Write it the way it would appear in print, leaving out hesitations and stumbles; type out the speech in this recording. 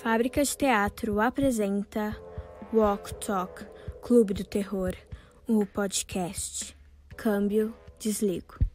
Fábrica de Teatro apresenta Walk Talk, Clube do Terror, o podcast. Câmbio, desligo.